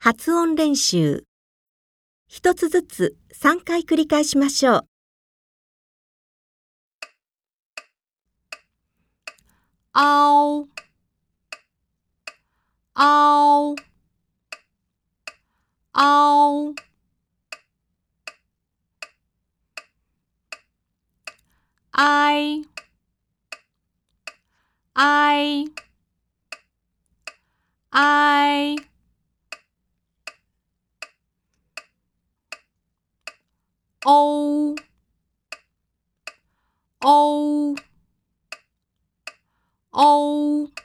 発音練習。一つずつ3回繰り返しましょう。 あお、あお、あお、あい、あい、あい、おう、おう、おう。